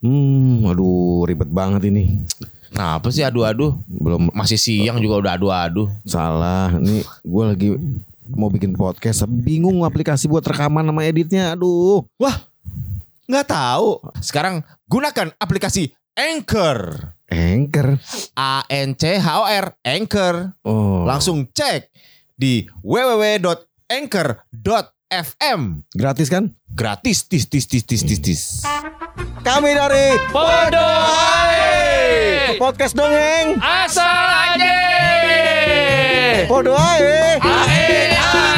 Aduh ribet banget ini. Nah apa sih adu-adu? Belum masih siang juga udah adu-adu. Salah, ini gue lagi mau bikin podcast, bingung aplikasi buat rekaman sama editnya. Aduh. Wah, nggak tahu. Sekarang gunakan aplikasi Anchor. Anchor. ANCHOR. Anchor. Oh. Langsung cek di www.anchor.fm. Gratis kan? Gratis. Tis. Kami dari Podo Ae. Podcast Dongeng. Asal aja. Podo Ae. Ae.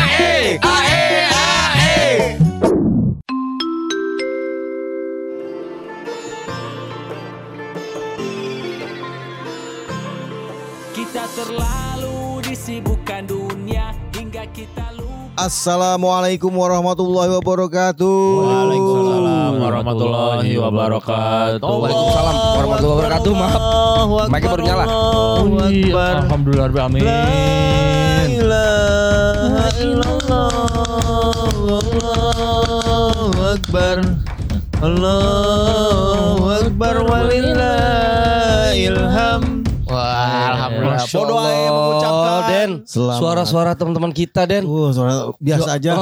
Kita terlalu disibukkan dunia hingga kita lupa. Assalamualaikum warahmatullahi wabarakatuh. Waalaikumsalam warahmatullahi wabarakatuh. Waalaikumsalam warahmatullahi wabarakatuh. Maaf, mic-nya baru nyala. Alhamdulillah, amin. Allahu Akbar. Allahu Akbar walillahilham. Wah, alhamdulillah. Podo Ae mengucapkan Den. Selamat. Suara-suara teman-teman kita Den. Suara biasa aja.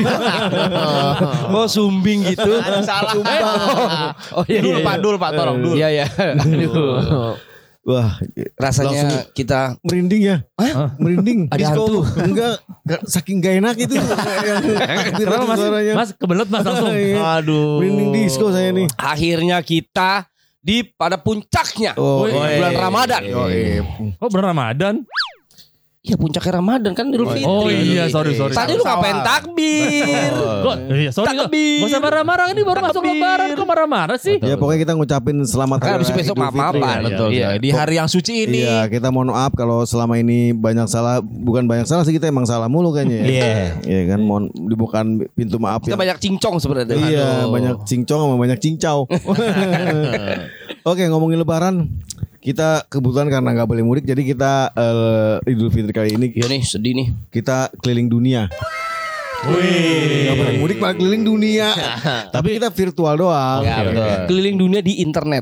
Oh sumbing gitu. Salah. Oh iya. Dul Pak, tolong dul. Iya. Aduh. Wah, Rasanya kita merinding ya. Merinding. Ada hantu. Enggak, saking gak enak itu. Kenapa Mas? Suaranya. Mas kebelet Mas langsung. Iya. Aduh. Merinding disco saya nih. akhirnya kita pada puncaknya Oh, bulan Ramadan. Oh bener Ramadan? Iya puncaknya Ramadan kan Idul Fitri. Oh iya, sorry. Tadi lu ngapain takbir? Iya, sorry. Takbir. Gak usah marah-marah, ini baru masuk lebaran kok marah-marah sih. Ya pokoknya kita ngucapin selamat Kan hari habis raya besok Idul Fitri. maaf-maafan. Betul. Iya. Di hari yang suci ini. Iya, kita mohon maaf kalau selama ini banyak salah, bukan banyak salah sih, kita emang salah mulu kayaknya. Iya kan, mohon dibukakan pintu maaf Kita yang. banyak cincong sebenarnya. Iya, banyak cincong sama banyak cincau. Oke, ngomongin lebaran. Kita kebetulan karena nggak boleh mudik, jadi kita Idul Fitri kali ini Iya nih sedih nih. kita keliling dunia. Nggak boleh mudik malah keliling dunia. Tapi kita virtual doang. Ya, betul. Keliling dunia di internet.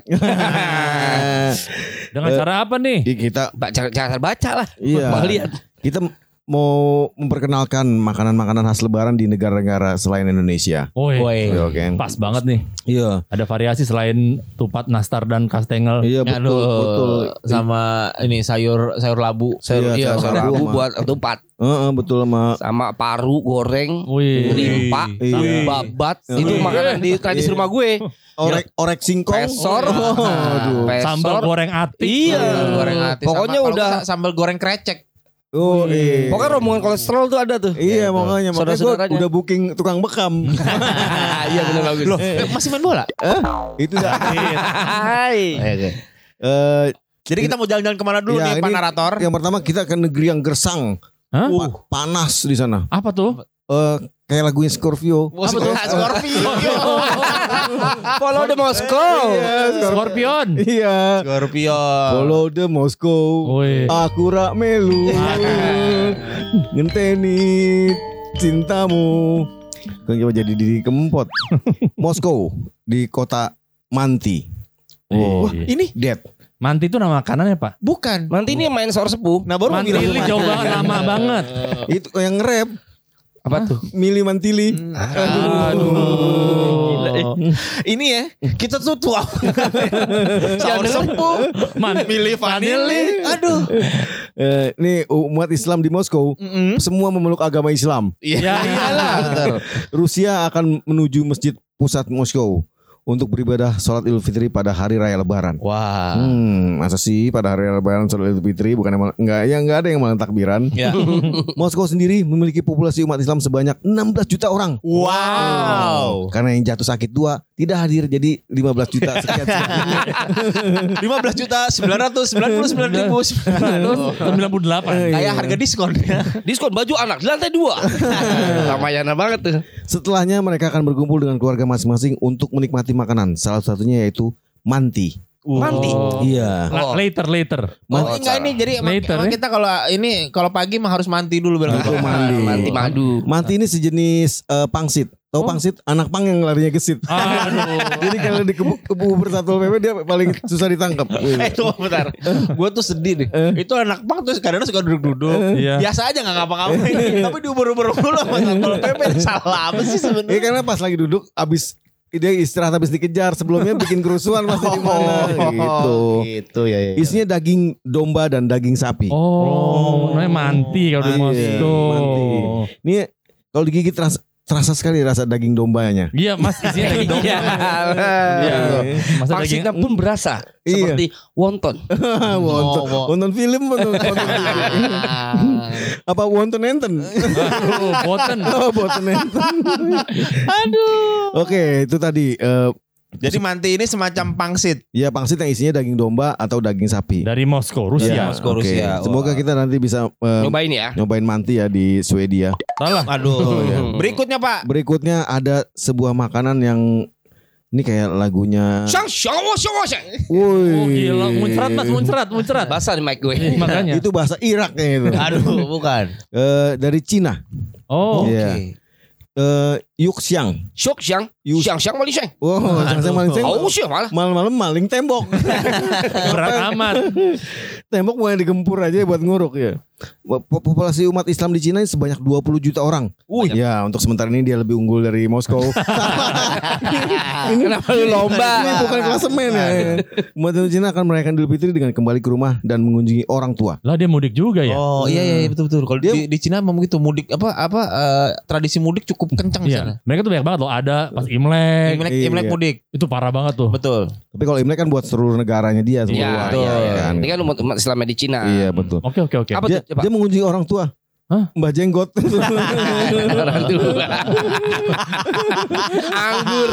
Dengan cara apa nih? Kita Baca lah. Iya. Mau lihat. kita mau memperkenalkan makanan-makanan khas lebaran di negara-negara selain Indonesia. Woi, Oke. pas banget nih. Iya. Ada variasi selain tupat, nastar, dan kastengel. Iya betul. Sama ini sayur labu. Iya, Iya, sayur sayur labu labu buat tupat. Betul Sama paru goreng, Wih. limpa, Iya. babat. Itu makanan di tradisi rumah gue. orek singkong. Pesor. Aduh. Pesor. Sambal goreng atik. Iya. Goreng hati. Pokoknya Sama, kalau udah bisa sambal goreng krecek. Oh iya. Pokoknya rombongan kolesterol tuh ada tuh. Iya makanya gue Saudara-saudaranya. udah booking tukang bekam. Iya benar bagus. Loh, masih main bola? Itu dah. Hai. Jadi kita mau jalan-jalan kemana dulu Ya, nih, Pak ini Narator? Yang pertama kita ke negeri yang gersang. Hah? Panas di sana. Apa tuh? Kayak lagunya Scorpio. Scorpio. Follow the Moscow. Scorpion. Iya. Scorpio. Follow the Moscow. Woi. Aku rak melu. Ngenteni cintamu. Kan coba jadi diri kempot. Moskow di kota Manti. Oh, Wah, iya. ini dead. Manti itu nama makanannya Pak? Bukan. Nanti ini main sor sepuh. Nah baru mau bilang Mantili jauh banget, lama banget. Itu yang nge-rap Apa tuh? Mili Mantili. Aduh. ini ya, kita tuh tua. Saur sepuh. Milih Vanili. Aduh. Ini umat Islam di Moskow semua memeluk agama Islam. Ya iyalah. Rusia akan menuju masjid pusat Moskow untuk beribadah sholat Idul Fitri pada hari raya Lebaran. Wah. Masa sih pada hari raya Lebaran sholat Idul Fitri bukan enggak ada yang malah takbiran. Ya. Moskow sendiri memiliki populasi umat Islam sebanyak 16 juta orang. Wow. Karena yang jatuh sakit 2 tidak hadir, jadi 15 juta sekian. 15 juta 999.900. 98. Kayak harga diskon ya. Diskon baju anak di lantai 2. Ramayana banget tuh. Setelahnya mereka akan berkumpul dengan keluarga masing-masing untuk menikmati makanan. Salah satunya yaitu manti. Manti. Iya. Later. Oh, enggak ini jadi Later, emang ya? kita kalau pagi mah harus manti dulu bilang. Itu mandi. Manti madu. Manti ini sejenis pangsit. Tahu pangsit? Anak pang yang larinya gesit. Aduh. Jadi kalau di kebu Satpol PP dia paling susah ditangkap. Tunggu bentar. Gue tuh sedih deh. Itu anak pang tuh kadang suka duduk-duduk. Iya. Biasa aja gak ngapa-ngapain. Tapi diuber-uber mulu sama Satpol PP. Salah apa sih sebenarnya? Iya karena pas lagi duduk abis dia istirahat habis dikejar sebelumnya bikin kerusuhan pasti di mana gitu. Gitu ya. Isinya daging domba dan daging sapi. Oh, namanya manti kalau di Moskow. Manti. Ini kalau digigit terasa sekali rasa daging dombanya. Iya, Mas, isinya daging domba. Iya. Masa daging Pangsitnya pun berasa Iya. seperti wonton. Wonton film wonton film. Apa wonton enten? Aduh, boten. Oh, wonton enten. Aduh. Oke, itu tadi Jadi manti ini semacam pangsit. ya pangsit yang isinya daging domba atau daging sapi. Dari Moskow, Rusia. Ya, Moskow, oke. Rusia. Semoga Wah. kita nanti bisa Nyobain ya. nyobain manti ya di Swedia. Salah. Aduh. iya. Berikutnya Pak. Berikutnya ada sebuah makanan yang ini kayak lagunya. Shang shang Woi. Oh gila, muncrat Mas, muncrat. Basah di mic gue. Makanya. Itu bahasa Irak kayaknya itu. Aduh, bukan. Dari Cina. Oh, Iya. Yuxiang. Shok shang. Shang shang maling shang. Wow, sang maling Oh sih malah. malam-malam maling tembok. berat amat. Tembok mau yang digempur aja buat nguruk ya. Populasi umat Islam di Cina sebanyak 20 juta orang. Ya, untuk sementara ini dia lebih unggul dari Moskow. Kenapa lu lomba? Ini bukan klasemen ya. Umat Islam Cina akan merayakan Idul Fitri dengan kembali ke rumah dan mengunjungi orang tua. Lah dia mudik juga ya? Oh iya betul. Kalau di Cina memang gitu mudik tradisi mudik cukup kencang di sana. Iya. Mereka tuh banyak banget loh. Ada pas Imlek. Imlek Iya. mudik. Itu parah banget tuh. Betul. Tapi kalau Imlek kan buat seluruh negaranya dia Iya, semua. iya. Kan. Ini kan umat Islamnya di Cina. Iya betul. Oke. Apa Dia, tuh? Coba. dia mengunjungi orang tua. Hah? Mbah Jenggot. Orang tua. Anggur.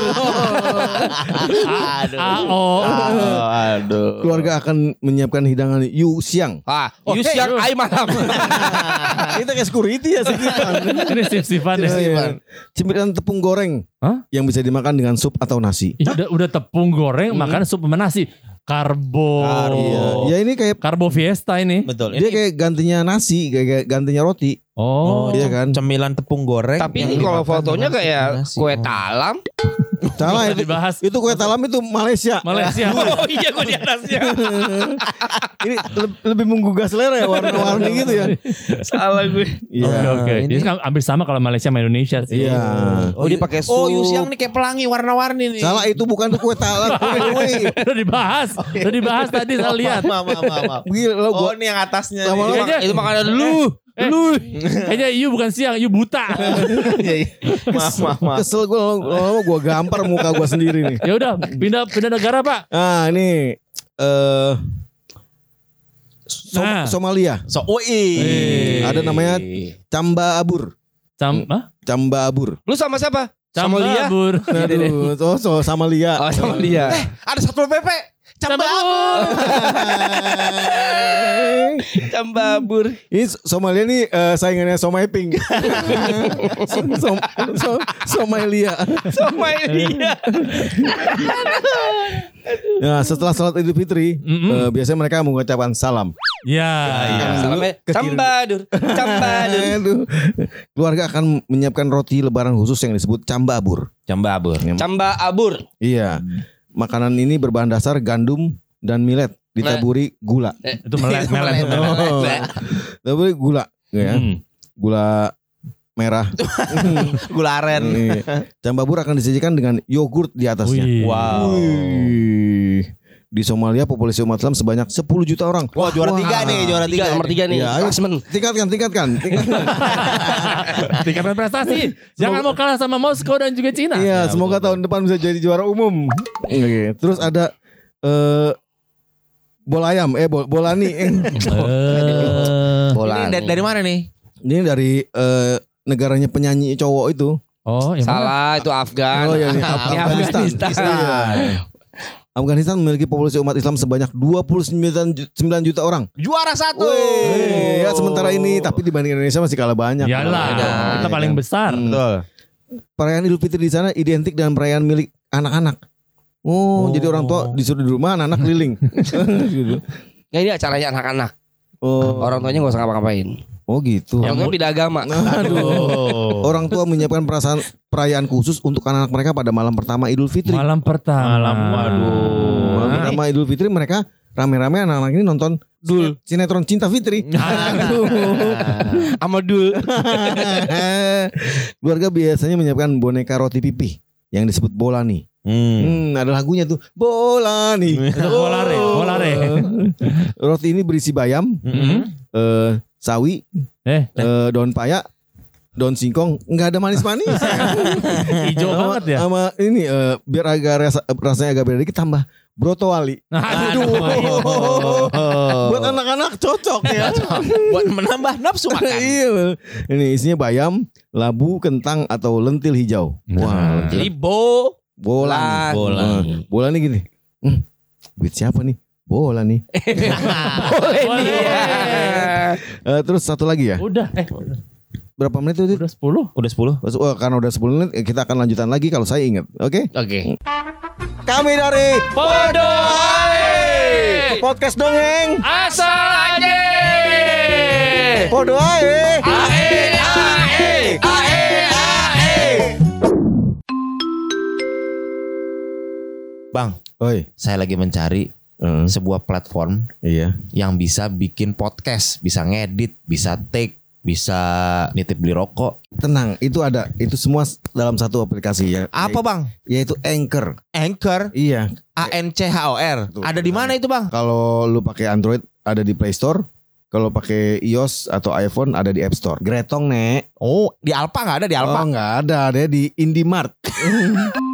Aduh. Keluarga akan menyiapkan hidangan Yu Xiang. Ah, Yus yang ai malam. Kita kayak security ya sekitar. Ini sip-sipan ya. Cemilan tepung goreng. Hah? Yang bisa dimakan dengan sup atau nasi. Udah tepung goreng makan sup sama nasi. Karbo. Ya ini kayak Karbo Fiesta ini. Betul. dia kayak gantinya nasi, kayak gantinya roti. Oh. Iya kan? Cemilan tepung goreng. Tapi yang ini kalau dimakan fotonya dengan kayak nasi. kue talam. Salah Udah itu. dibahas. Itu kue talam itu Malaysia. Malaysia. Oh iya gue di atasnya. Ini lebih menggugah selera ya warna-warni gitu ya. Salah gue. Iya. Oke. Jadi kan hampir sama kalau Malaysia sama Indonesia sih. Iya. Oh dia pakai sup. Oh Yusiang nih kayak pelangi warna-warni nih. Salah itu bukan kue talam. Udah dibahas. Udah dibahas tadi saya lihat. Maaf. Gila lo Oh gua ini yang atasnya. Lama-lama nih. Kayaknya- Itu makanan lu. Lu. Kayaknya you bukan siang, you buta. Maaf. kesel gue lama-lama gue gampar muka gue sendiri nih. Ya udah, pindah negara, Pak. Nah ini Nah. Somalia. Ada namanya Camba Abur. Camba Abur. Lu sama siapa? Sama Lia. Bur. Aduh, sama Lia. Oh sama Lia. Ada Satpol PP. Cambabur. Ini Somalia nih saingannya Somai Pink. Somalia. Sama Lia. Nah, setelah salat Idul Fitri, biasanya mereka mengucapkan salam. Ya. Salamnya Cambadur. Cambadur. Aduh. Keluarga akan menyiapkan roti lebaran khusus yang disebut cambabur. Cambabur. Cambaabur. Iya. Makanan ini berbahan dasar gandum dan millet ditaburi gula. Itu melet. Ditaburi gula, ya. Gula merah. Gula aren. Iya. Cambabur akan disajikan dengan yogurt di atasnya. Wih. Wow. Wih. Di Somalia populasi umat Islam sebanyak 10 juta orang. Wah juara 3 nih, juara 3. Nomor 3 nih. Iya, ayo. Klasmen. Tingkatkan. Tingkatkan prestasi. Jangan mau kalah sama Moskow dan juga Cina. Iya, semoga tahun depan bisa jadi juara umum. Oke. Terus ada bola ayam, bolani. Bola. Ini dari mana nih? Ini dari negaranya penyanyi cowok itu. Oh, yang mana? Salah itu Afgan. Oh ya, ini Afghanistan. Afghanistan memiliki populasi umat Islam sebanyak 29 juta orang. Juara 1. Ya sementara ini tapi dibanding Indonesia masih kalah banyak. Iyalah, kita paling besar. Betul. Perayaan Idul Fitri di sana identik dengan perayaan milik anak-anak. Oh, jadi orang tua disuruh di rumah, anak-anak keliling. Gitu. Nggak, ini acaranya anak-anak. Oh, Orang tuanya nggak usah ngapa-ngapain. oh gitu. Orang tuanya beda agama. Aduh. Orang tua menyiapkan perayaan khusus untuk anak-anak mereka pada malam pertama Idul Fitri. Malam pertama. Malam pertama Idul Fitri mereka rame-rame anak-anak ini nonton sinetron Cinta Fitri. Amadul. Keluarga biasanya menyiapkan boneka roti pipih yang disebut bola nih. Ada lagunya tuh bola nih. Bolare. Roti ini berisi bayam, sawi, daun paya, daun singkong, nggak ada manis-manis. Hijau banget ya. Sama ini biar agak rasanya agak beda dikit tambah broto wali. Aduh. Buat anak-anak cocok ya. Buat menambah nafsu makan. Iya. Ini isinya bayam, labu, kentang atau lentil hijau. Wah, Jadi bola nih. Bola nih gini. Duit siapa nih? Bola nih. Terus satu lagi ya. Udah. Berapa menit itu? Udah 10. Udah 10. Oh, karena udah 10 menit kita akan lanjutan lagi kalau saya ingat. Oke? Oke. Kami dari Podo Podcast Dongeng Asal aja. Podo ae. Bang, Oi. saya lagi mencari sebuah platform Iya. yang bisa bikin podcast, bisa ngedit, bisa take, bisa nitip beli rokok. Tenang, itu ada. Itu semua dalam satu aplikasi ya. Apa bang? Yaitu Anchor. Anchor, Iya. ANCHOR. Tuh. Ada di mana itu bang? Kalau lu pakai Android ada di Play Store. Kalau pakai iOS atau iPhone ada di App Store. Gretong, Nek. Oh, di Alpa nggak ada di Alpa? Oh, nggak ada. Ada di Indimart.